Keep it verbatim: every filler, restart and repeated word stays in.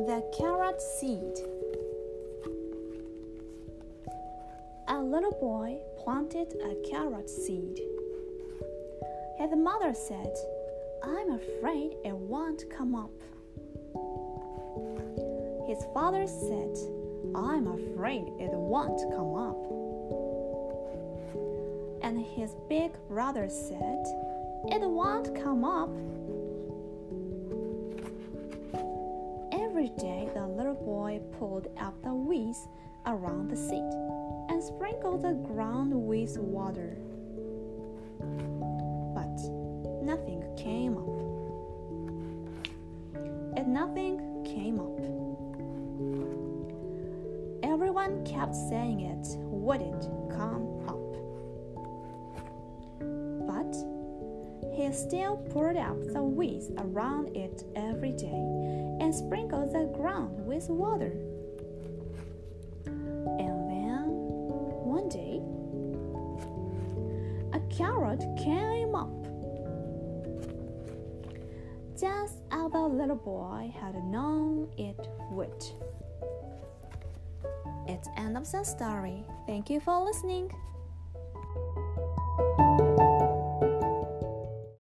the carrot seed. A little boy planted a carrot seed. His mother said, "I'm afraid it won't come up." His father said, "I'm afraid it won't come up." And his big brother said, "It won't come up." Every day the little boy pulled up the weeds around the seed and sprinkled the ground with water. But nothing came up. And nothing came up. Everyone kept saying it wouldn't come up. But he still poured up the weeds around it every day and sprinkled the ground with water. And then, one day, a carrot came up, just as the little boy had known it would. It's the end of the story. Thank you for listening.